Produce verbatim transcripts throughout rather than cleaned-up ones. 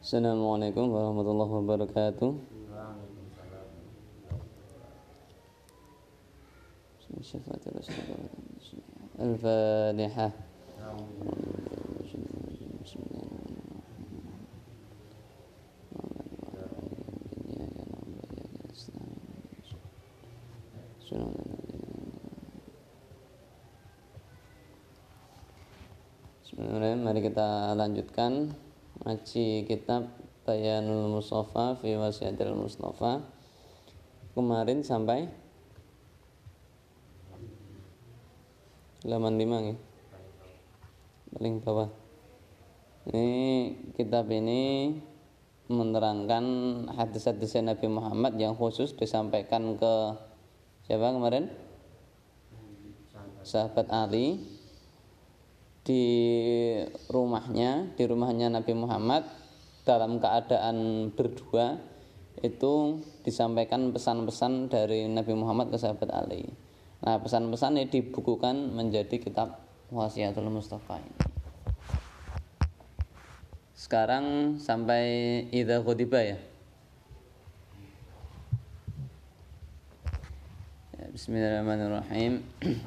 Assalamualaikum warahmatullahi wabarakatuh. Al-Fatihah. Bismillahirrahmanirrahim. Mari kita lanjutkan ngaji kitab Bayanul Mustafa fi Wasiyatil Mustafa. Kemarin sampai halaman lima ya. Paling bawah. Ini kitab ini menerangkan hadis-hadis Nabi Muhammad yang khusus disampaikan ke siapa kemarin? Sahabat Ali di rumahnya, di rumahnya Nabi Muhammad dalam keadaan berdua itu disampaikan pesan-pesan dari Nabi Muhammad ke sahabat Ali. Nah, pesan-pesan ini dibukukan menjadi kitab Wasiyatul Mustafa ini. Sekarang sampai idza khutiba ya. Ya, bismillahirrahmanirrahim.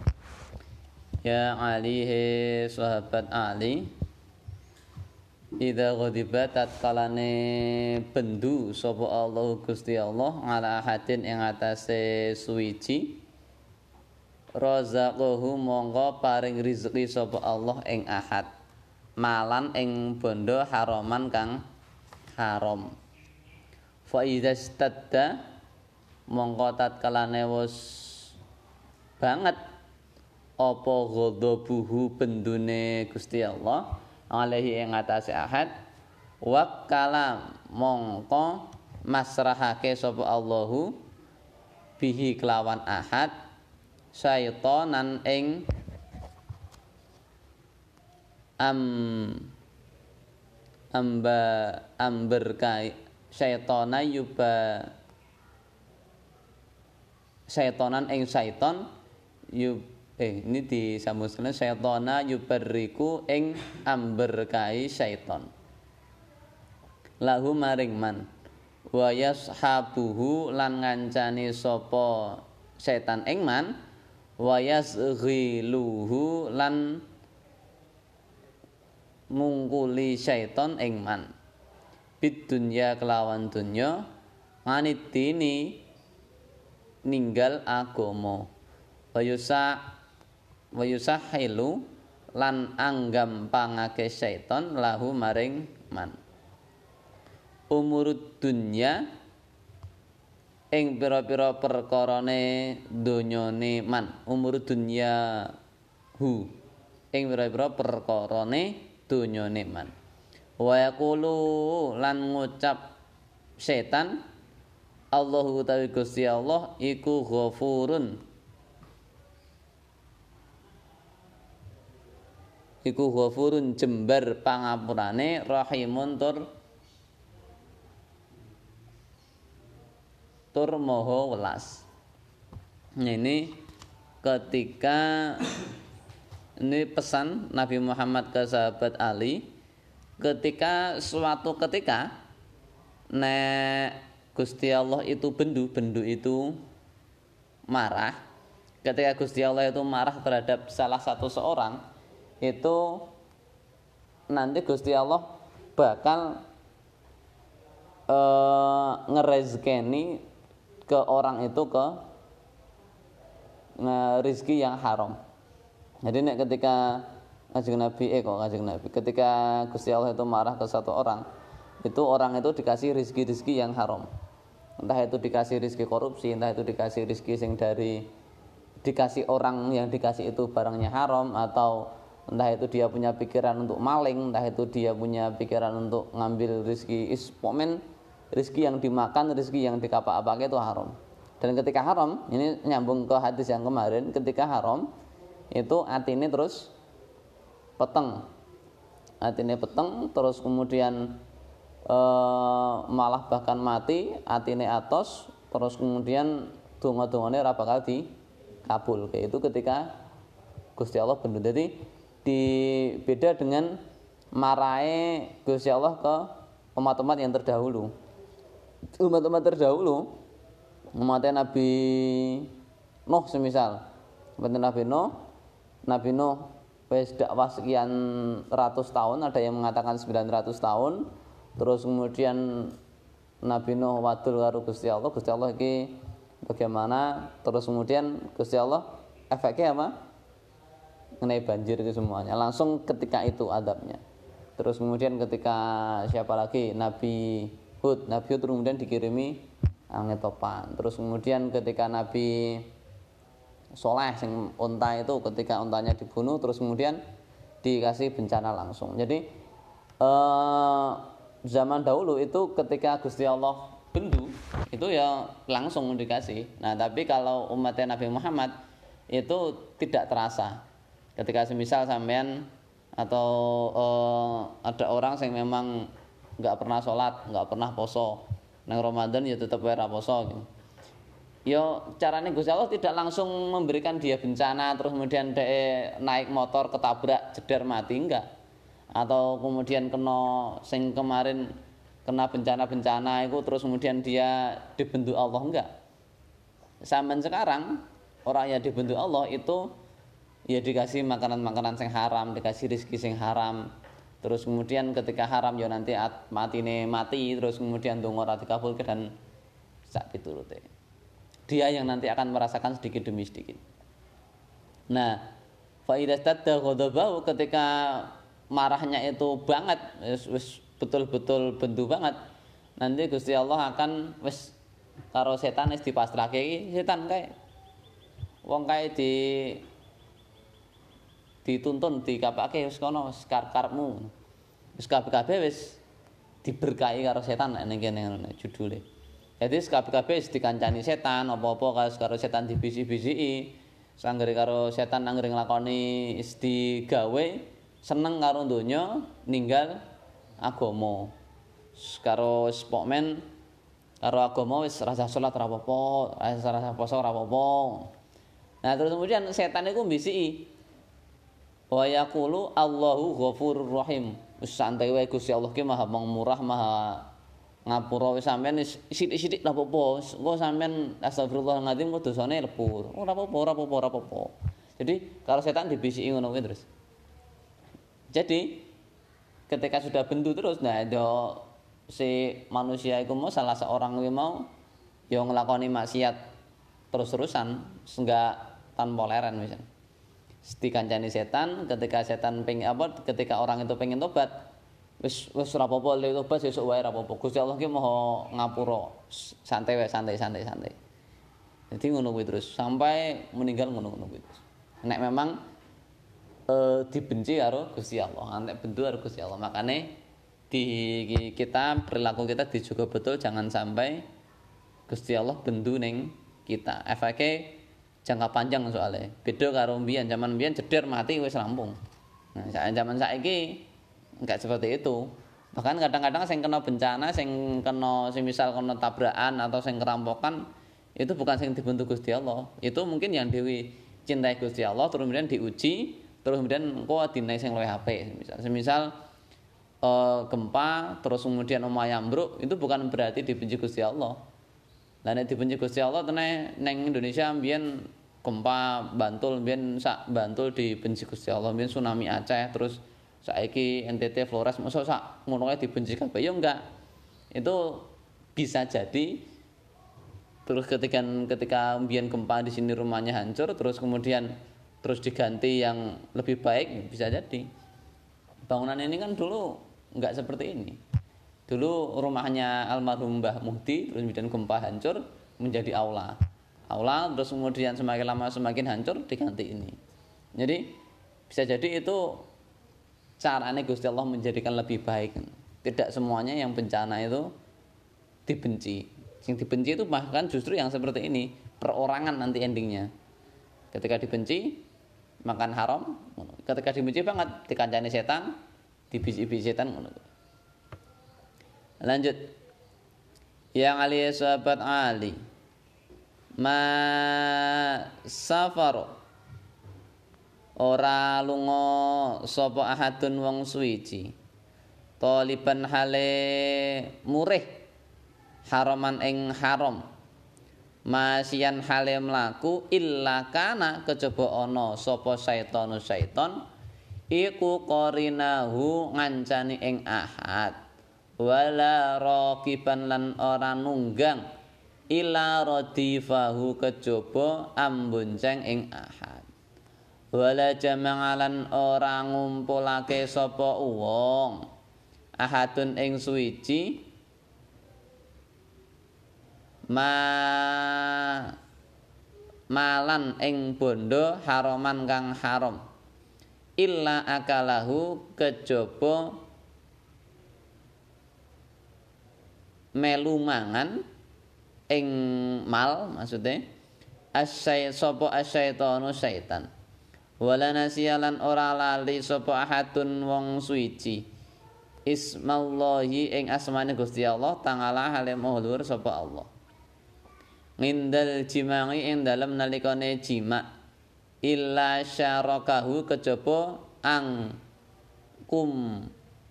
Ya Ali, he sahabat Ali, idza ghadiba tatkalane bendu sapa Allah Gusti Allah ala hadin ing atase suwiji, razaqahu mongko paring rezeki sapa Allah ing ahad, malan ing bondo haraman kang haram. Fa idza stadda mongko tatkalane wis banget apa ghadabuhu bendune Gusti Allah alaihi ing atase ahad, wakala mongko masrahake sapa Allahu bihi kelawan ahad syaitanan ing am amba amber kai syaitana yuba syaitanan ing syaiton yub Eh, ini disambungkan syaitana yubarriku ing amberkai syaiton. Lahu maring man wa yashabuhu lan ngancani sapa setan ing man wa yasghiluhu lan mungkuli syaiton ing man bid dunya kelawan dunya manitini ninggal agama wa yusa wa yusahilu lan anggam pangake syaiton lahu maring man umurud dunya ing pira-pira perkarane donyane man umurud dunya hu ing pira-pira perkarane donyane man wa yaqulu lan ngucap setan Allahu ta'ala Gusti Allah iku ghafurun iku ghafurun jembar pangapurane rahimun tur tur maha welas. Ini ketika ini pesan Nabi Muhammad ke sahabat Ali ketika suatu ketika nek Gusti Allah itu bendu bendu itu marah, ketika Gusti Allah itu marah terhadap salah satu seorang itu nanti Gusti Allah bakal e, ngerezekeni ke orang itu ke rezeki yang haram. Jadi nek ketika Kanjeng Nabi eh kok Kanjeng Nabi ketika Gusti Allah itu marah ke satu orang, itu orang itu dikasih rezeki-rezeki yang haram. Entah itu dikasih rezeki korupsi, entah itu dikasih rezeki sing dari dikasih orang yang dikasih itu barangnya haram, atau entah itu dia punya pikiran untuk maling, entah itu dia punya pikiran untuk ngambil rezeki ispomen, rezeki yang dimakan, rezeki yang dikapak-apakai itu haram. Dan ketika haram, ini nyambung ke hadis yang kemarin, ketika haram itu atine terus peteng. Atine peteng terus kemudian e, malah bahkan mati, atine atos, terus kemudian donga-dongane ora bakal dikabul. Kayak itu ketika Gusti Allah bendu. Jadi di beda dengan marahe Gusti Allah ke umat-umat yang terdahulu. Umat-umat terdahulu, umatnya Nabi Nuh semisal, umatnya Nabi Nuh, Nabi Nuh wis dakwah sekian ratus tahun, ada yang mengatakan sembilan ratus tahun. Terus kemudian Nabi Nuh wadul karo Gusti Allah, Gusti Allah iki bagaimana? Terus kemudian Gusti Allah efeknya apa? Mengenai banjir itu semuanya. Langsung ketika itu adabnya. Terus kemudian ketika siapa lagi? Nabi Hud, Nabi Hud kemudian dikirimi angin topan. Terus kemudian ketika Nabi Soleh sing unta itu, ketika untanya dibunuh, terus kemudian dikasih bencana langsung. Jadi eh, zaman dahulu itu ketika Gusti Allah bendu itu ya langsung dikasih. Nah tapi kalau umatnya Nabi Muhammad itu tidak terasa. Ketika semisal sampean atau eh, ada orang yang memang nggak pernah sholat, nggak pernah poso, nang Ramadan ya tetap ora poso gitu. Yo caranya Gusti Allah tidak langsung memberikan dia bencana terus kemudian dia naik motor ketabrak jeder mati, enggak. Atau kemudian kena sing kemarin kena bencana-bencana itu terus kemudian dia dibentuk Allah, enggak. Sampai sekarang orang yang dibentuk Allah itu ya dikasih makanan-makanan sing haram, dikasih rezeki sing haram. Terus kemudian ketika haram ya nanti matine mati, terus kemudian donga ora dikabulke dan sak piturute. Dia yang nanti akan merasakan sedikit demi sedikit. Nah, fa idza tadda ghadabahu, ketika marahnya itu banget, wis betul-betul bendu banget, nanti Gusti Allah akan wis karo setan wis dipasrahke iki, setan kae. Wong kae di dituntun dikapake wis kono wis karepmu. Wis kabeh-kabeh wis diberkahi karo setan nek ning kene ngono judule. Jadi kabeh-kabeh wis dikancani setan, apa-apa karo setan dibisi-bisiki. Sanggere karo setan anggere nglakoni is digawe seneng karo donya, ninggal agama. Karo spokmen karo agama wis rasa salat ora apa-apa, rasa poso ora apa-apa. Nah, terus kemudian setan iku mbisiki wa yaqulu Allahu Ghafurur Rahim. Wis santai wae Gusti Allah ki Maha Pemurah, Maha ngapura. Wis sampean sithik-sithik ra apa-apa. Engko sampean astagfirullahaladzim kok dosane lepur. Ora apa-apa, ora apa-apa, ora apa-apa. Jadi kalau setan dibisiki ngono kuwi terus. Jadi ketika sudah bendu terus, nah do si manusia iku mau salah seorang kuwi mau ya nglakoni maksiat terus-terusan enggak tanpa leren misalnya. Dikancani setan, ketika setan pengen apa, ketika orang itu pengen tobat, wis wis ora apa-apa le tobat sesuk wae ora apa-apa. Gusti Allah ki Maha ngapura, santai wae, santai santai santai. Jadi ngono kuwi terus sampai meninggal ngono-ngono kuwi terus. Nek memang e, dibenci karo Gusti Allah, nek bendu karo Gusti Allah, makane di kita perilaku kita dijaga betul jangan sampai Gusti Allah bendu ning kita. Efeke jangka panjang soalnya. Beda karo mbiyen, zaman mbiyen jeder mati wis rampung. Nah, zaman saiki enggak seperti itu. Bahkan kadang-kadang sing kena bencana, sing kena semisal kena tabrakan atau sing kerampokan itu bukan sing dibentuk Gusti Allah. Itu mungkin yang dewi cintai Gusti Allah terus kemudian diuji, terus kemudian engko dinai sing luwih apik. Semisal semisal uh, gempa terus kemudian omah ambruk, itu bukan berarti dibenci Gusti Allah. Lah nek dibenci Gusti Allah tenan neng Indonesia mbiyen gempa Bantul, mbiyen sak Bantul dibenci Gusti Allah, mbiyen tsunami Aceh, terus saiki N T T Flores mosok sak ngono ae dibenci kabeh ya enggak. Itu bisa jadi terus ketika ketika mbiyen gempa di sini rumahnya hancur terus kemudian terus diganti yang lebih baik, bisa jadi. Bangunan ini kan dulu enggak seperti ini. Dulu rumahnya almarhum Mbah Muhdi terus kemudian gempa hancur menjadi aula. Aula terus kemudian semakin lama semakin hancur diganti ini. Jadi bisa jadi itu caranya Gusti Allah menjadikan lebih baik. Tidak semuanya yang bencana itu dibenci. Yang dibenci itu bahkan justru yang seperti ini, perorangan nanti endingnya. Ketika dibenci makan haram, ketika dibenci banget dikancani setan, dibisi-bisi setan ngono. Lanjut. Yang ali sahabat Ali ma safar ora lunga sapa ahadun wong suwiji Taliban hale murih haraman ing haram masian hale mlaku illa kana kejaba ana sapa syaitanu syaiton iku qarinahu ngancani ing ahad wala raqiban lan ora nunggang ila radifahu kejaba ambonceng ing ahad wala jama'alan ora ngumpulake sapa wong ahadun ing suwiji ma malan ing bondo haraman kang haram illa akalahu kejaba melu mangan ing mal maksudnya asyai sapa asyaitonu syaitan wala nasiyalan ora lali sapa ahadun wong suwiji ismallahi ing asmane Gusti Allah taala hale mahlur sapa Allah ngindal jimangi ing dalem nalikane jima illa syarakahu kejaba ang kum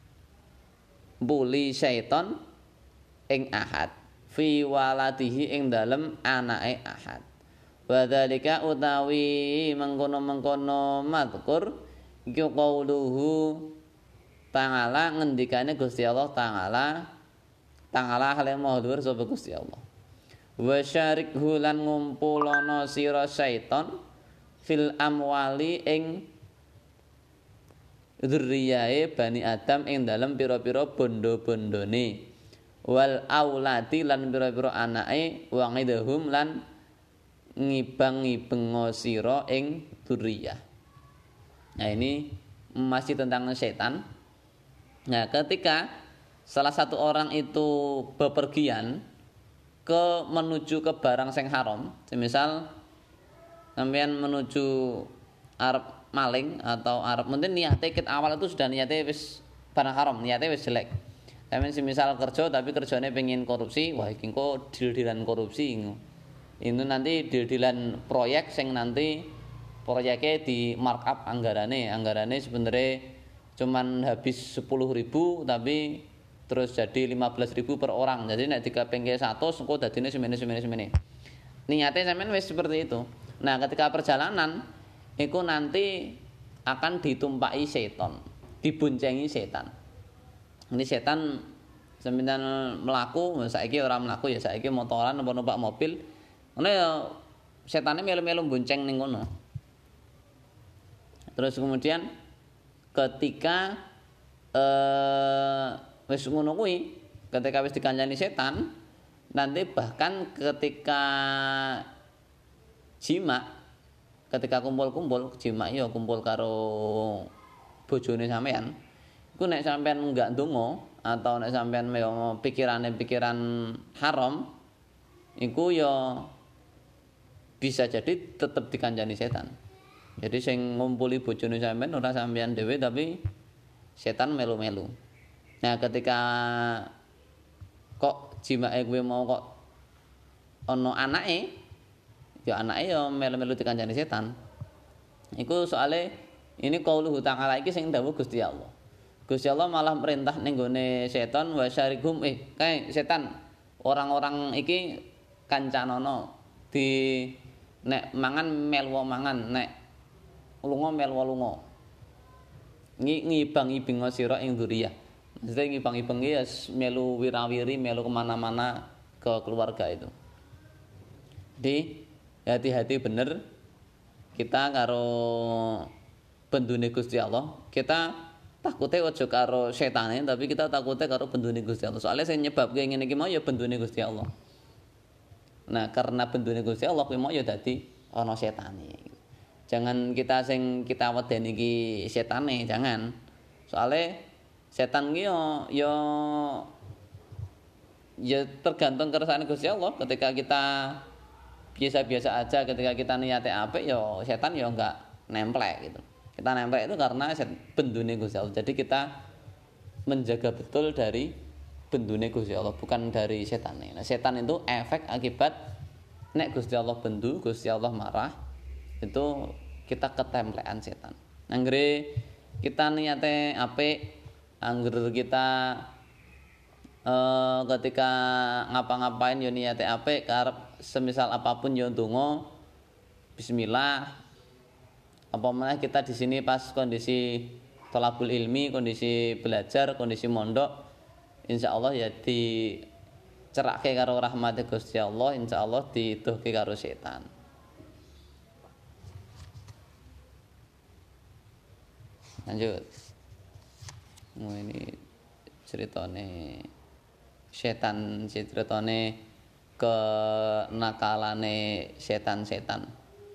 buli syaiton ing ahad fi waladihi ing dalem anake ahad wadzalika utawi mengkono-mengkono mazkur iku qauluhu ta'ala ngendikane Gusti Allah ta'ala ta'ala hale mahdhur sapa Gusti Allah wa syarikhu lan ngumpulono sira syaiton fil amwali ing dzurriyae Bani Adam ing dalem pira-pira bondo-bondone wal aulati lan pira-pira anake wa ngidhum lan ngibang-ngibeng sira ing dzurriyah. Nah ini masih tentang setan. Nah, ketika salah satu orang itu bepergian ke menuju ke barang sing haram, semisal sampean menuju arep maling atau arep mungkin niate ket awal itu sudah niate wis barang haram, niate wis jelek. Sampeyan semisal kerja tapi kerjane pengen korupsi, wah iki kok deal-dealan korupsi. Ini nanti deal-dealan proyek sing nanti proyeknya di markup anggarane, anggarane sebenarnya cuman habis sepuluh ribu tapi terus jadi lima belas ribu per orang. Jadi nek digapengke seratus engko dadine semene-semene-semene. Niate sampean wis seperti itu. Nah, ketika perjalanan iku nanti akan ditumpaki setan, diboncengi setan. Ini setan sampeyan mlaku, saiki ora mlaku ya saiki motoran apa numpak mobil. Ngono ya setane melu-melu bonceng ning kono. Terus kemudian ketika eh wis ngono kuwi, ketika wis dikancani setan, nanti bahkan ketika jima, ketika kumpul-kumpul, jima ya kumpul karo bojone sampean. Iku nek sampean enggak ndonga atau nek sampean pikirane pikiran haram, iku ya bisa jadi tetap dikancani setan. Jadi sing ngumpuli bojone sampean ora sampean dhewe tapi setan melu-melu. Nah, ketika kok jimake kuwi mau kok ana anake, ya anake ya melu-melu dikancani setan. Iku soale ini qauluhu ta'ala iki sing dawuh Gusti Allah. Gusti Allah malah merintah ning gone setan wa syarikum eh kae setan orang-orang iki kancanono di nek mangan melwa mangan nek lunga melwa lunga ngibang-ibing sira ing dzuriyah. Maksudnya ngibang-ibeng ya melu wirawiri melu kemana-mana ke keluarga itu. Jadi hati-hati bener kita karo bendune Gusti Allah. Kita takutnya aja karo setane tapi kita takutnya karo bendune Gusti Allah. Soalnya sing nyebabke ngene iki mau ya bendune Gusti Allah. Nah, karena bendune Gusti Allah kuwi mau ya dadi ana setane. Jangan kita sing kita wedeni iki setane, jangan. Soale setan ki yo yo ya tergantung kersane Gusti Allah. Ketika kita biasa-biasa aja, ketika kita niate apik yo setan yo enggak nemplek gitu. Kita nemplek itu karena bendune Gusti Allah. Jadi kita menjaga betul dari bendune Gusti Allah, bukan dari setane. Nah, setan itu efek akibat nek Gusti Allah bendu, Gusti Allah marah, itu kita ketemplekan setan. Anggere kita niate apik, Angger kita eh, ketika ngapa-ngapain yo niate apik karep semisal apapun yo ndonga bismillah. Apa meneh kita di sini pas kondisi thalabul ilmi, kondisi belajar, kondisi mondok, insyaallah ya dicerake karo rahmate Gusti Allah, insyaallah diduhke karo setan. Lanjut. Oh, ini ceritane setan, ceritane kenakalane setan-setan.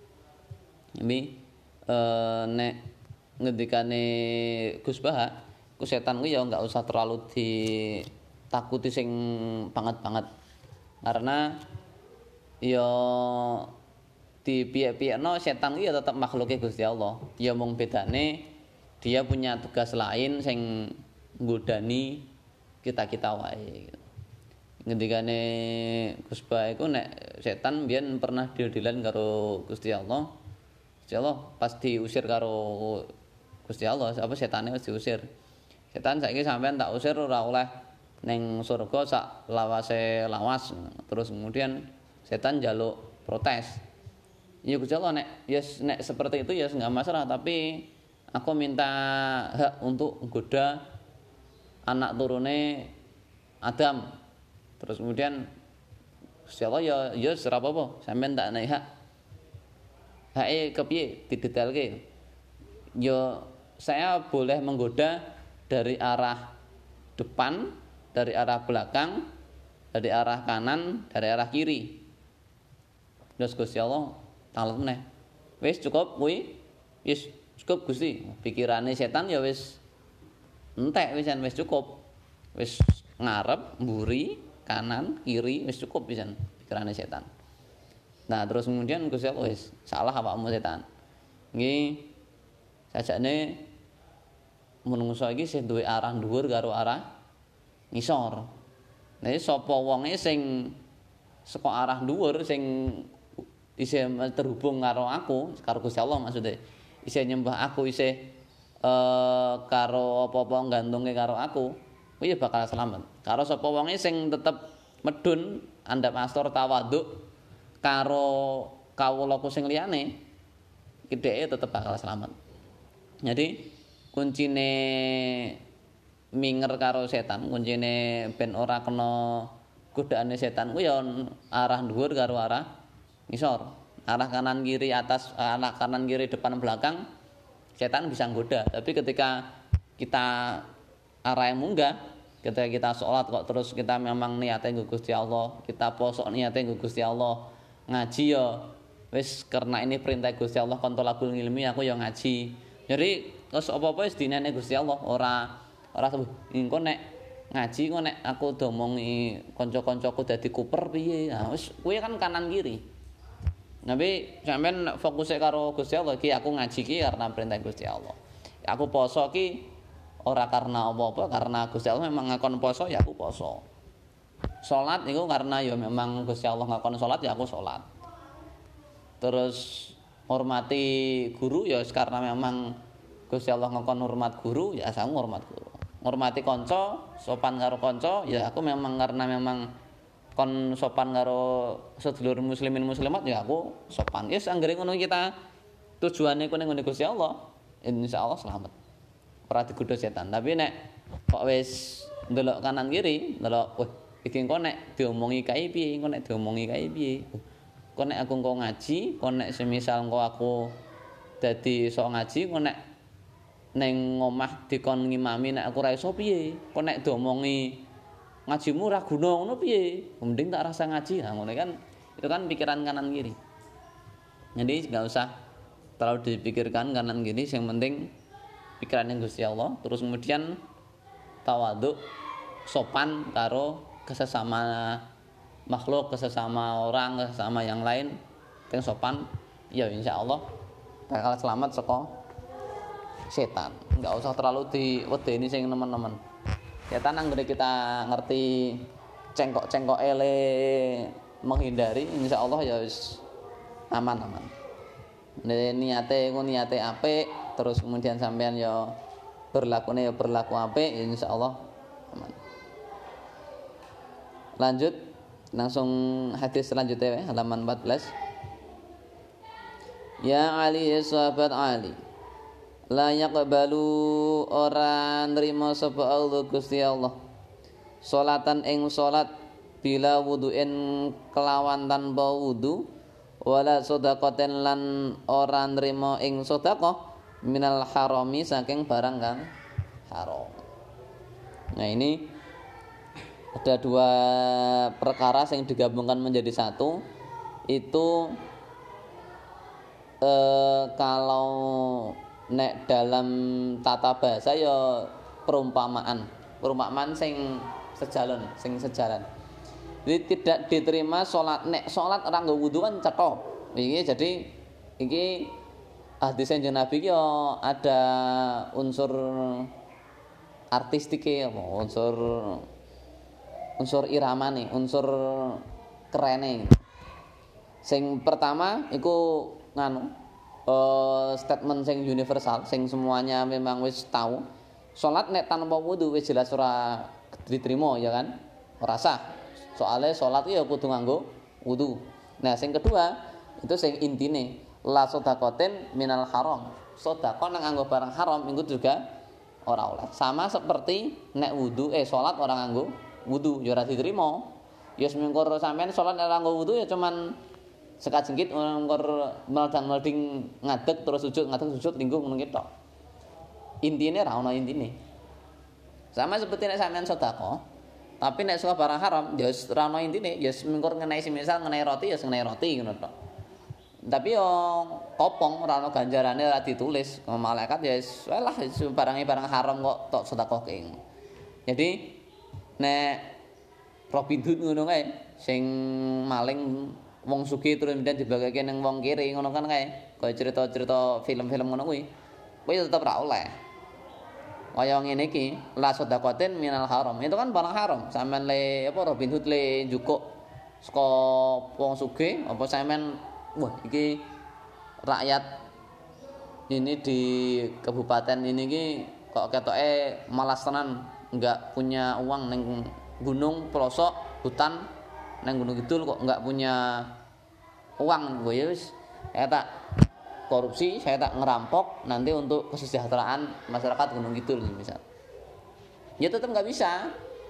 Ini eh, nek ngendikane Gus Baha, ku setan ku ya enggak usah terlalu ditakuti sing banget-banget. Karena ya di piye-piyekno setan ku ya tetep makhluke Gusti Allah. Ya mung bedane dia punya tugas lain sing nggodani kita-kita wae. Ngendikane Gus Baha iku nek setan biyen pernah diodelan karo Gusti Allah. Gusti Allah pas diusir karo Gusti Allah, apa setane wis diusir. Setan saiki sampean tak usir ora oleh ning surga sak lawase lawas. Terus kemudian setan njaluk protes. Ya Gusti Allah nek yes nek seperti itu ya enggak masalah, tapi aku minta hak untuk menggoda anak turune Adam. Terus kemudian Gusti Allah ya ya ora apa-apa, sampean tak naik hak. Hake kepiye didetailke? Ya saya boleh menggoda dari arah depan, dari arah belakang, dari arah kanan, dari arah kiri. Terus Gusti Allah talet meneh. Wis cukup kuwi. Wis cukup Gusti. Pikirane setan ya wis entek wisan wis cukup. Wis ngarep, mburi, kanan, kiri wis cukup wisan pikirane setan. Nah, terus kemudian Gusti Allah wis salah awakmu setan. Nggih sajane menungso iki sing duwe arah dhuwur karo arah ngisor. Nah, sapa wonge sing saka arah dhuwur sing isih terhubung karo aku, karo Gusti Allah maksudnya. Isih nyembah aku, isih eh, karo apa-apa gantungke karo aku, kuwi ya bakal selamat. Karo sapa wonge sing tetep medun andhap astor tawaduk karo kawulaku sing liyane, iki dheke tetep bakal selamat. Jadi kuncine minger karo setan, kuncine ben ora kena godaane setan ku ya arah dhuwur karo arah ngisor. Arah kanan kiri atas, arah kanan kiri depan belakang setan bisa nggoda. Tapi ketika kita arah yang munggah, ketika kita sholat kok terus kita memang niate nggo Gusti Allah, kita poso niate nggo Gusti Allah, ngaji ya wis karena ini perintah Gusti Allah kon thalabul ilmi aku ya ngaji. Jadi terus apa-apa wis dinene Gusti Allah, ora ora engko nek ngaji kok nek aku domongi kanca-kancaku dadi kuper piye. Nah wis kuwi kan kanan kiri. Tapi sampean fokusnya karo Gusti Allah iki aku ngaji ki karena perintah Gusti Allah. Aku poso ki ora karena apa-apa, karena Gusti Allah memang ngakon poso ya aku poso. Salat niku karena ya memang Gusti Allah ngakon salat ya aku salat. Terus hormati guru ya karena memang Gusti Allah ngakon hormat guru ya aku hormat guru. Hormati kanca, sopan karo kanca ya aku memang karena memang kon sopan karo sedulur muslimin muslimat ya aku sopan. Yes anggere ngono kita tujuane ku ning Gusti Allah, insyaallah selamat. Ora digodho setan. Tapi nek kok wis ndelok kanan kiri, ndelok wah iki engko nek diomongi kae piye, engko nek diomongi kae piye. Kok nek aku engko ngaji, kok nek semisal engko aku dadi sok ngaji, kok nek ning omah dikon ngimami nek aku ora iso piye. Kok nek diomongi ngajimu ora guna ngono piye? Mending tak rasa ngaji. Nah, ngono kan itu kan pikiran kanan kiri. Jadi enggak usah terlalu dipikirkan kanan kiri, yang penting pikirannya Gusti Allah. Terus kemudian tawaduk, sopan karo kesesama makhluk, kesesama orang, kesesama yang lain, yang sopan, ya insyaallah bakal selamat saka setan. Enggak usah terlalu diwedeni sing nemen-nemen. Setan anggere kita ngerti cengkok-cengkok ele menghindari, insyaallah ya wis aman-aman. Niate ku niate apik, terus kemudian sampean ya berlakune ya berlaku apik ya insyaallah aman. Lanjut langsung hadis selanjutnya ya, halaman empat belas. Ya Ali ya sahabat Ali, la yaqbalu ora nrimo sapa Allah Gusti Allah salatan ing salat bila wudu'in kelawan tanpa wudu, wala sedaqaten lan ora nrimo ing sedekah minal harami saking barang kang haram. Nah ini ada dua perkara yang digabungkan menjadi satu. Itu eh, kalau nek dalam tata bahasa ya perumpamaan perumpamaan sing sejalan sing sejalan. Jadi tidak diterima sholat nek sholat orang nggo wudu kan cetha. Iki jadi iki hadis Kanjeng Nabi iki ada unsur artistike apa unsur unsur iramane, unsur kerene. Sing pertama iku nganu uh, statement sing universal sing semuanya memang wis tahu. Salat nek tanpa wudu wis jelas ora diterima ya kan? Ora sah. Soale salat ya kudu nganggo wudu. Nah, sing kedua itu sing intine la sedaqatin minal haram. Sedekah nang nganggo barang haram iku juga ora oleh. Sama seperti nek wudu eh salat ora nganggo wudu ya ora diterima. Ya semengkor sampean salat ora nganggo wudu ya cuman sekat jengkit ngor meldang-melding ngadeg terus sujud ngadeg sujud lingguh ngono ki tok. Intine ra ono intine. Sama seperti nek sampean sedekah, tapi nek suka barang haram ya wis ra ono intine, ya mengkor ngenai semisal ngenai roti ya ngenai roti ngono tok. Tapi yo kopong ora ono ganjarane ora ditulis. Malaikat ya wis lah barange barang haram kok tok sedekahke. Jadi nek Robin Hood ngono kae sing maling wong sugih terus kemudian dibagake ning wong kiri ngono kan kae. Kaya cerita-cerita film-film ngono kuwi. Kuwi tetep ra oleh. Kaya ngene iki, la sedaqatin minal haram. Itu kan barang haram. Sampeyan le apa Robin Hood le njukuk saka wong sugih apa sampeyan wah iki rakyat ini di kabupaten ini iki kok ketoke malas tenan enggak punya uang ning gunung pelosok hutan nang Gunung Kidul kok enggak punya uang gue ya wis saya tak korupsi, saya tak ngerampok nanti untuk kesejahteraan masyarakat Gunung Kidul misal. Ya tetap enggak bisa.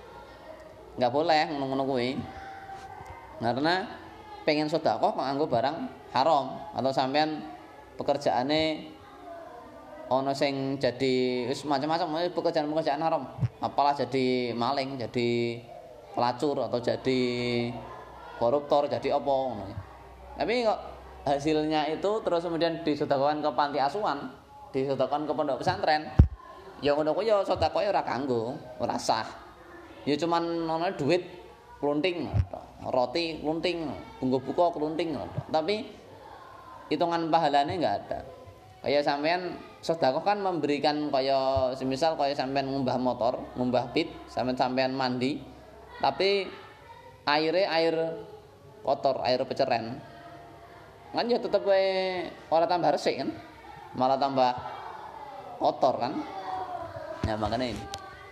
Enggak boleh ngono-ngono kuwi. Karena pengen sedekah kok nganggo barang haram atau sampean pekerjaane ono sing jadi wis macam-macam pekerjaan-pekerjaan haram. Apalah jadi maling, jadi pelacur atau jadi koruptor, jadi apa ngono. Tapi kok hasilnya itu terus kemudian disedekahkan ke panti asuhan, disedekahkan ke pondok pesantren. Ya ngono kuwi ya sedekah ora kanggo, ora sah. Ya cuman ono duit klunting, roti klunting, bunggo buka klunting. Tapi hitungan pahalane enggak ada. Kayak sampean sedekah kan memberikan kaya semisal kaya sampean ngumbah motor, ngumbah pit, sampean sampean mandi. Tapi airnya air kotor, air peceren. Kan ya tetep wae ora tambah resik kan? Malah tambah kotor kan? Nah, makanya ini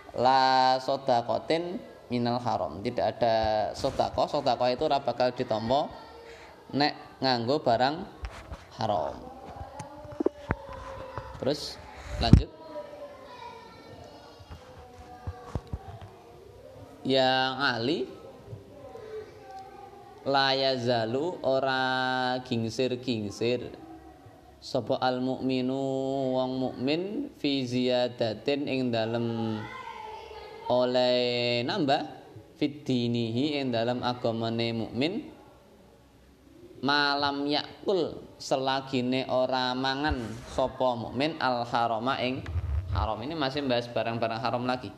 la sedaqatin minal haram. Tidak ada sedekah, sedekah itu ora bakal ditampa nek nganggo barang haram. Terus lanjut. Yang Ali la yazalu ora gingsir-gingsir sapa al mukminu wong mukmin fi ziyadatin ing dalem oleh nambah fit dinihi ing dalem agamane mukmin malam yakul selagine ora mangan sapa mukmin al harama ing haram. Ini masih bahas barang-barang haram lagi.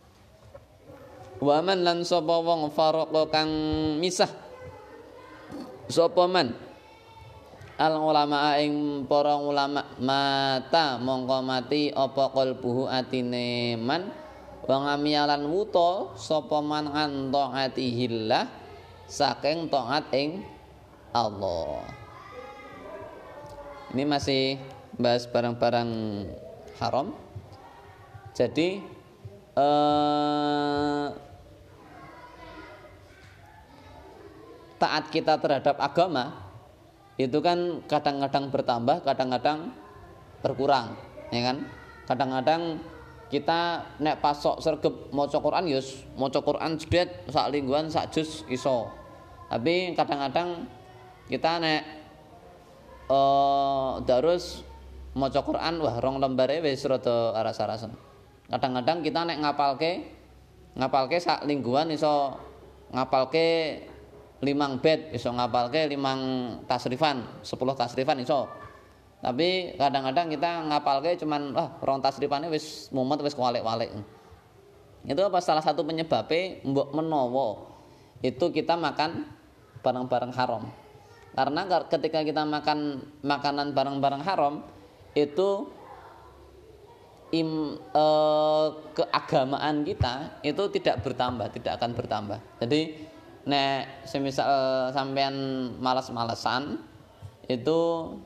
Waman lan sapa wong farqa kang misah sapa man al ulama ing para ulama mata mongko mati apa qalbuhu atine man wa ngamialan wuta sapa man an taatihillah saking taat ing Allah. Ini masih bahas barang-barang haram. Jadi eh, taat kita terhadap agama itu kan kadang-kadang bertambah, kadang-kadang berkurang, ya kan? Kadang-kadang kita nek pasok sregep maca Quran yus, maca Quran jedet sak lingguhan sak juz iso. Tapi kadang-kadang kita nek eh terus maca Quran wah rong lembare wis rada aras-arasen. Kadang-kadang kita nek ngapalke ngapalke sak lingguhan iso ngapalke limang bait, iso ngapalke limang tasrifan, sepuluh tasrifan iso. Tapi kadang-kadang kita ngapalke cuman wah rong tasrifane wis mumet wis kualik-walik. Itu apa salah satu penyebabnya mbok menawa itu kita makan barang-barang haram. Karena ketika kita makan makanan barang-barang haram itu im, eh, keagamaan kita itu tidak bertambah, tidak akan bertambah. Jadi nek semisal sampean malas-malesan itu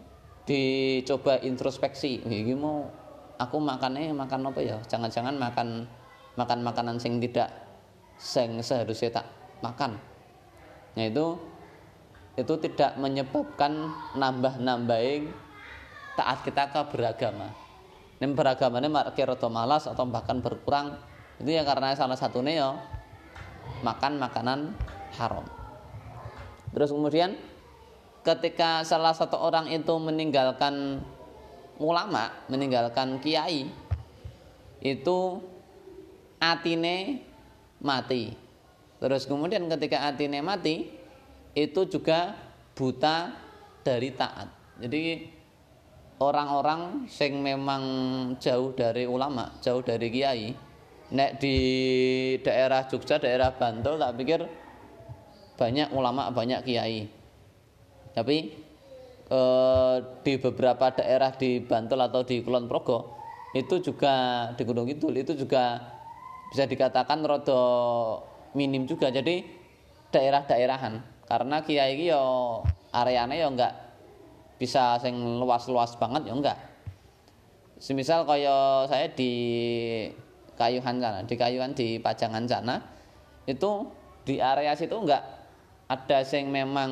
dicoba introspeksi, iki mau aku makannya makan apa ya? Jangan-jangan makan makan makanan sing tidak sing seharusnya tak makan. Nah itu itu tidak menyebabkan nambah-nambahin taat kita ke beragama. Nek beragamane marke rada malas atau bahkan berkurang itu ya karena salah satunya ya makan makanan haram. Terus kemudian ketika salah satu orang itu meninggalkan ulama, meninggalkan kiai, itu atine mati. Terus kemudian ketika atine mati, itu juga buta dari taat. Jadi orang-orang sing memang jauh dari ulama, jauh dari kiai, nek di daerah Jogja, daerah Bantul tak pikir banyak ulama, banyak kiai. Tapi eh, di beberapa daerah di Bantul atau di Kulon Progo itu juga di Gunung Kidul itu juga bisa dikatakan rada minim juga. Jadi daerah-daerahan. Karena kiai iki yo areane yo enggak bisa sing luas-luas banget yo enggak. Semisal kaya saya di Kayuhan sana, di Kayuhan di Pajangan sana itu di area situ enggak ada sing memang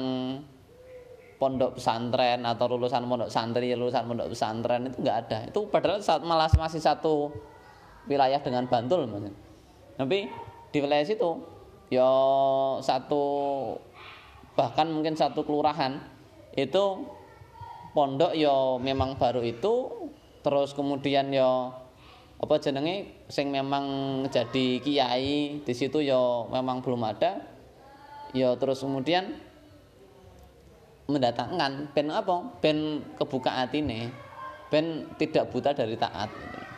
pondok pesantren atau lulusan pondok santri, lulusan pondok pesantren itu enggak ada. Itu padahal malah masih satu wilayah dengan Bantul maksudnya. Tapi di wilayah situ ya satu bahkan mungkin satu kelurahan itu pondok ya memang baru itu, terus kemudian ya apa jenenge sing memang jadi kiai di situ ya memang belum ada. Ya terus kemudian mendatangkan ben apa? Ben kebuka atine, ben tidak buta dari taat.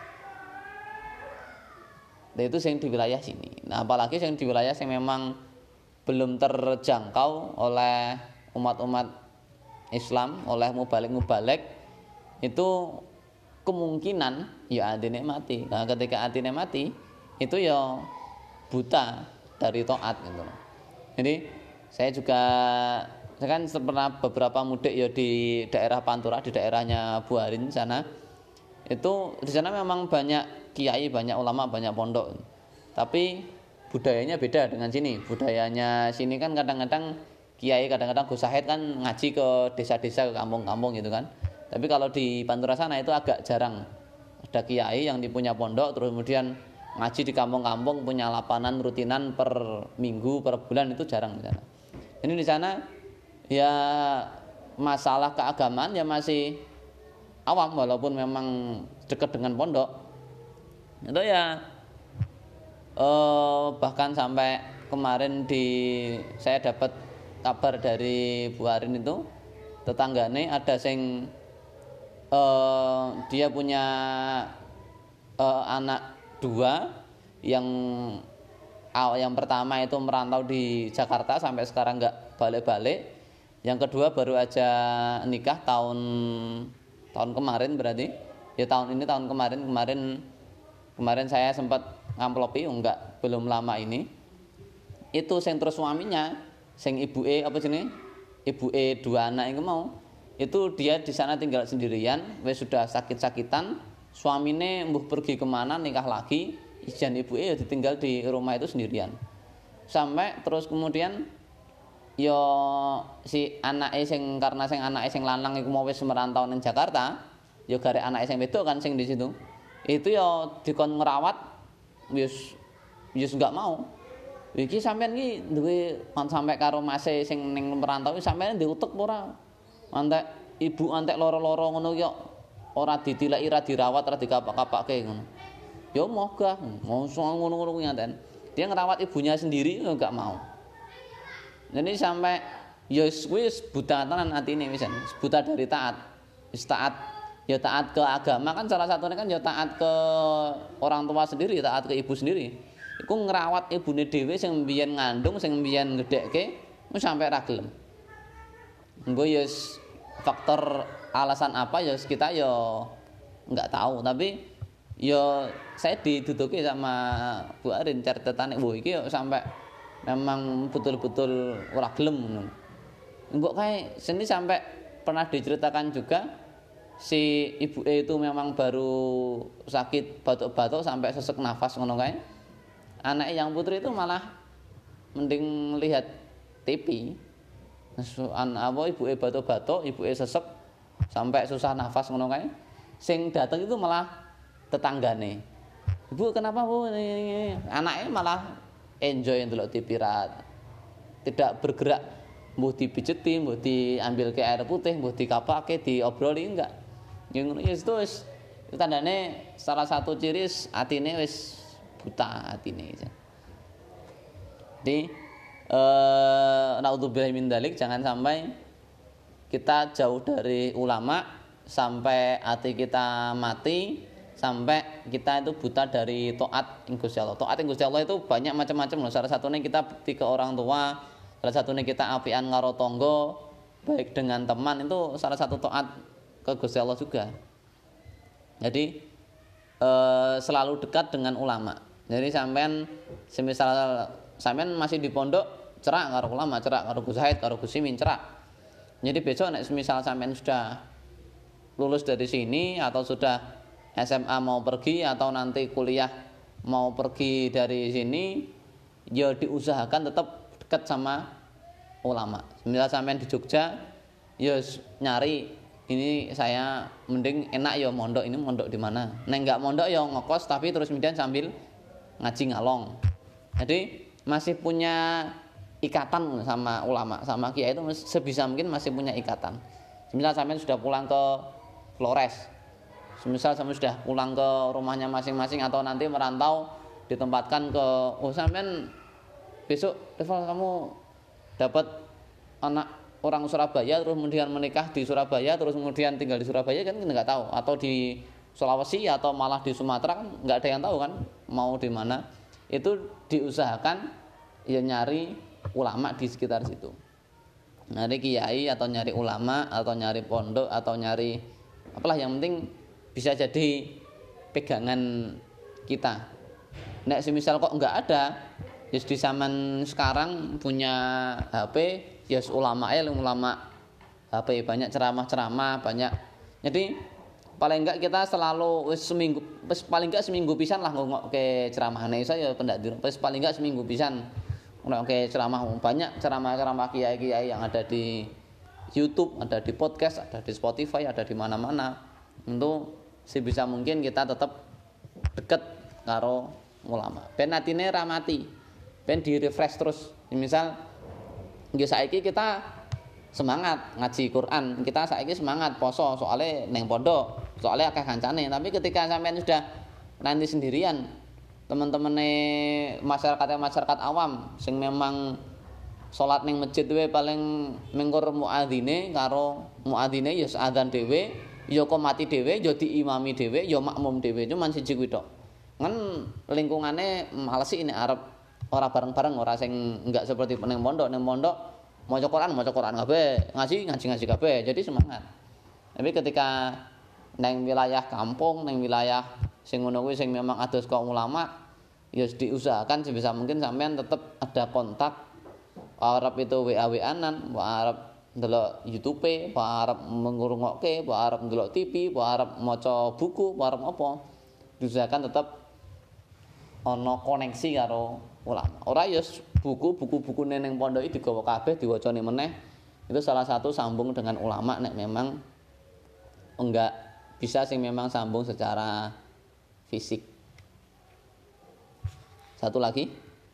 Nah, itu yang di wilayah sini. Nah, apalagi yang di wilayah yang memang belum terjangkau oleh umat-umat Islam, oleh mubalik-mubalik, itu kemungkinan ya atine mati. Nah, ketika atine mati, itu ya buta dari taat gitu. Jadi saya juga saya kan pernah beberapa mudik ya di daerah Pantura, di daerahnya Buarin sana. Itu di sana memang banyak kiai, banyak ulama, banyak pondok. Tapi budayanya beda dengan sini. Budayanya sini kan kadang-kadang kiai, kadang-kadang Gus Sahid kan ngaji ke desa-desa, ke kampung-kampung gitu kan. Tapi kalau di Pantura sana itu agak jarang. Ada kiai yang dipunya pondok terus kemudian ngaji di kampung-kampung, punya lapanan rutinan per minggu, per bulan, itu jarang di sana. Ini di sana ya masalah keagamaan ya masih awam walaupun memang dekat dengan pondok. Itu ya eh, bahkan sampai kemarin di saya dapat kabar dari Bu Arin itu tetanggane ada sing eh, dia punya eh, anak dua yang yang pertama itu merantau di Jakarta sampai sekarang nggak balik-balik. Yang kedua baru aja nikah tahun tahun kemarin berarti ya tahun ini tahun kemarin kemarin kemarin saya sempat ngamplopi enggak belum lama ini itu sing terus suaminya sing ibuke apa jenenge ibuke dua anak itu mau itu dia di sana tinggal sendirian wis sudah sakit-sakitan suamine mbuh pergi kemana nikah lagi, ijan ibuke ya ditinggal di rumah itu sendirian. Sampai terus kemudian yo si anake sing karena sing anake sing lanang iku mau wis merantau ning Jakarta, yo garek anake sing wedok kan sing di situ. Itu yo dikon ngrawat wis wis enggak mau. Iki sampean iki duwe kon sampe karo mase sing ning merantau sampean diutek ora? Antek ibu antek loro-loro ngono yo ora ditileki, ora dirawat, ora dikapak-kapake ngono. Yo mogah, mosok ngono-ngono kuwi nganten. Dia ngerawat ibunya sendiri enggak mau. Jadi sampai ya wis buta tenan atine wisan, buta dari taat. Wis taat ya taat ke agama kan salah satunya kan ya taat ke orang tua sendiri, taat ke ibu sendiri. Iku ngerawat ibune dhewe sing mbiyen ngandung, sing mbiyen gedhekke wis sampai ra gelem. Engko ya faktor alasan apa ya kita ya enggak tahu, tapi ya saya diduduki sama Bu Arin catetane wo iki sampai memang betul-betul ora gelem ngono. Engko kae seni sampai pernah diceritakan juga si ibuke itu memang baru sakit batuk-batuk sampai sesek nafas ngono kae. Anake yang putri itu malah mending lihat T V. An apa ibuke batuk-batuk, ibuke sesek sampai susah nafas ngono kae. Sing dateng itu malah tetanggane. Ibu kenapa Bu? Anaknya malah enjoy ndelok T V rat. Tidak bergerak, mbuh dipijeti, mbuh diambil ke air putih, mbuh dikapake, diobroli enggak. Ya ngono ya wis tandane salah satu ciri atine wis buta atine. Jadi eh naudzubillahi min dzalik, jangan sampai kita jauh dari ulama sampai hati kita mati, sampai kita itu buta dari taat Gusti Allah. Taat Gusti Allah itu banyak macam-macam loh. Salah satunya kita bakti ke orang tua, salah satunya kita apian karo tangga, baik dengan teman, itu salah satu taat ke Gusti Allah juga. Jadi eh, selalu dekat dengan ulama. Jadi sampean semisal sampean masih di pondok cerak karo ulama, cerak karo Gus Said, karo Gus Simin, cerak. Jadi besok nek semisal sampean sudah lulus dari sini atau sudah S M A mau pergi atau nanti kuliah mau pergi dari sini, ya diusahakan tetap dekat sama ulama. Misal sampean di Jogja, ya nyari ini saya mending enak ya mondok, ini mondok di mana. Nek enggak mondok ya ngekos tapi terus kemudian sambil ngaji ngalong. Jadi masih punya ikatan sama ulama, sama kiai itu sebisa mungkin masih punya ikatan. Misal sampean sudah pulang ke Flores, semisal sampai sudah pulang ke rumahnya masing-masing atau nanti merantau ditempatkan ke oh sampean besok Deval kamu dapat anak orang Surabaya terus kemudian menikah di Surabaya terus kemudian tinggal di Surabaya kan kita nggak tahu, atau di Sulawesi atau malah di Sumatera kan nggak ada yang tahu kan mau di mana. Itu diusahakan ya nyari ulama di sekitar situ, nyari kiai atau nyari ulama atau nyari pondok atau nyari apalah, yang penting bisa jadi pegangan kita. Nek semisal kok enggak ada, ya di zaman sekarang punya H P, ya ulama ya ulama H P banyak ceramah-ceramah banyak. Jadi paling enggak kita selalu wis seminggu wis paling enggak seminggu pisan lah ngokke ceramahane saya pendak di wis paling enggak seminggu pisan ngokke ceramah. Banyak ceramah-ceramah kiai-kiai yang ada di YouTube, ada di podcast, ada di Spotify, ada di mana-mana. Untuk sebisa mungkin kita tetap dekat karo ulama. Ben atine ra mati. Ben di refresh terus. Misal nggih saiki kita semangat ngaji Quran, kita saiki semangat poso soalnya neng pondok, soalnya akeh kancane. Tapi ketika sampean sudah nanti sendirian, teman-temane masyarakat masyarakat awam sing memang salat ning masjid wae paling mengkur muadzine karo muadzine ya adzan dhewe, ya kok mati dhewe, ya diimami dhewe, ya makmum dhewe, cuman siji kuwi tok. Kan lingkungane males iki nek arep ora bareng-bareng, ora sing enggak seperti ning pondok, ning pondok maca Quran, maca Quran kabeh, ngaji ngaji-ngaji kabeh, jadi semangat. Tapi ketika neng wilayah kampung, neng wilayah sing ngono kuwi sing memang ados kaum ulama, ya diusahakan sebisa mungkin sampean tetap ada kontak. Arab itu W A W A-an, Arab ndelok YouTube, apa arep ngrungokke, apa arep ndelok T V, apa arep maca buku, apa arep apa. Diusahakan tetap ana koneksi karo ulama. Ora ya buku-buku-buku ning pondok iki digawa kabeh diwacane meneh. Itu salah satu sambung dengan ulama nek memang enggak bisa sing memang sambung secara fisik. Satu lagi.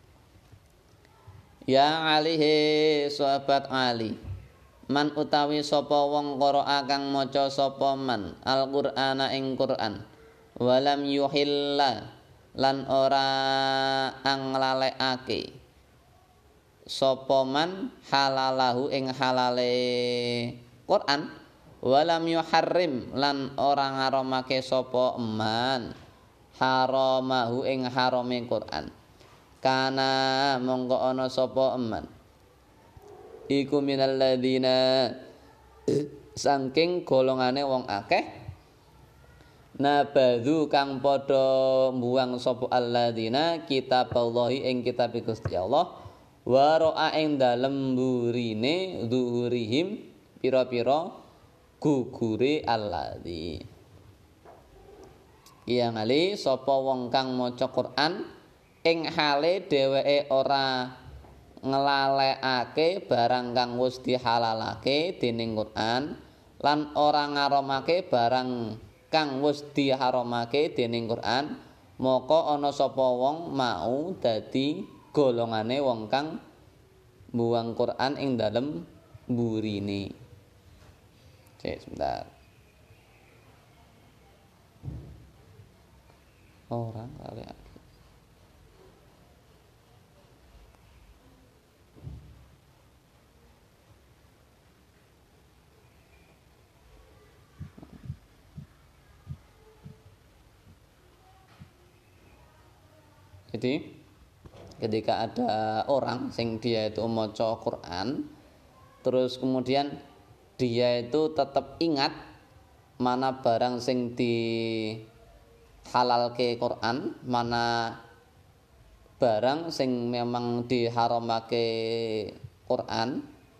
Ya alihi sahabat Ali. Man utawi sapa wong qira'a kang maca sapa man Al-Qur'ana ing Qur'an. Walam yuhilla lan ora anglalekake sapa man halalahu ing halale Quran walam yuharrim lan ora ngaramake sapa man haramahu ing harame Quran kana mongko ana sapa man iku minal ladzina saking golongane wong akeh nabadhu kang padha mbuang sapa alladzina kitaballahi ing kitab Gusti Allah wa ra'a ing dalem burine zuhurihim pira-pira gugure alladzi yang ali sapa wong kang maca Quran ing hale dheweke ora nglalekake barang kang wis dihalalake dening Quran lan ora ngaramake barang kang wis diharamake dening Quran maka ana sapa wong mau dadi golongane wong kang mbuang Quran ing dalem mburine. Cek sebentar. Orang kali Jadi ketika ada orang sing dia itu maca Quran terus kemudian dia itu tetap ingat mana barang sing di halalke Quran, mana barang sing memang diharamake Quran,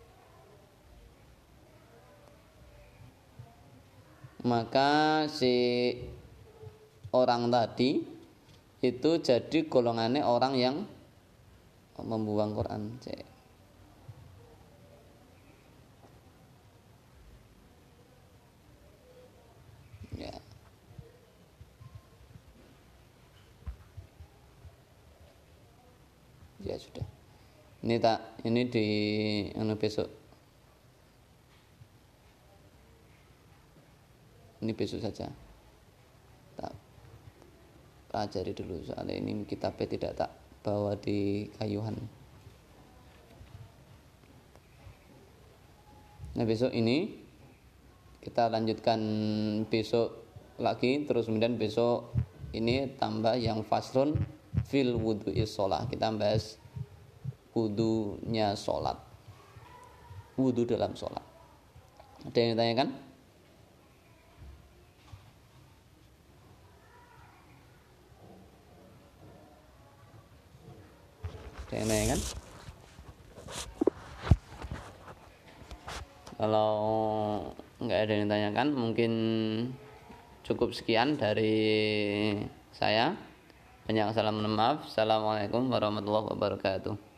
maka si orang tadi itu jadi golongannya orang yang membuang Quran. Ya. Ya sudah. Ini tak ini di anu besok. Ini besok saja. Tak pelajari dulu soalnya ini kitabnya tidak tak bawa di kayuhan. Nah besok ini kita lanjutkan besok lagi terus kemudian besok ini tambah yang faslun fil wudu'is sholat. Kita bahas wudunya sholat, wudu dalam sholat. Ada yang ditanyakan? Ada yang ditanyakan? Kalau nggak ada yang ditanyakan mungkin cukup sekian dari saya. Banyak salam maaf. Assalamualaikum warahmatullahi wabarakatuh.